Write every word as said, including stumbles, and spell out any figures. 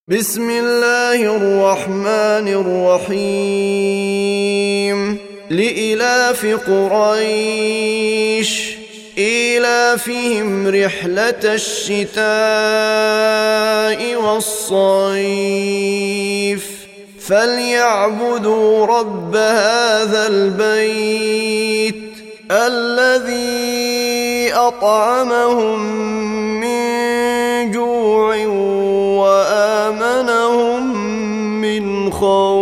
بسم الله الرحمن الرحيم لإلاف قريش إيلافهم رحلة الشتاء والصيف فليعبدوا رب هذا البيت الذي أطعمهم من جوع وآمنهم من خوف.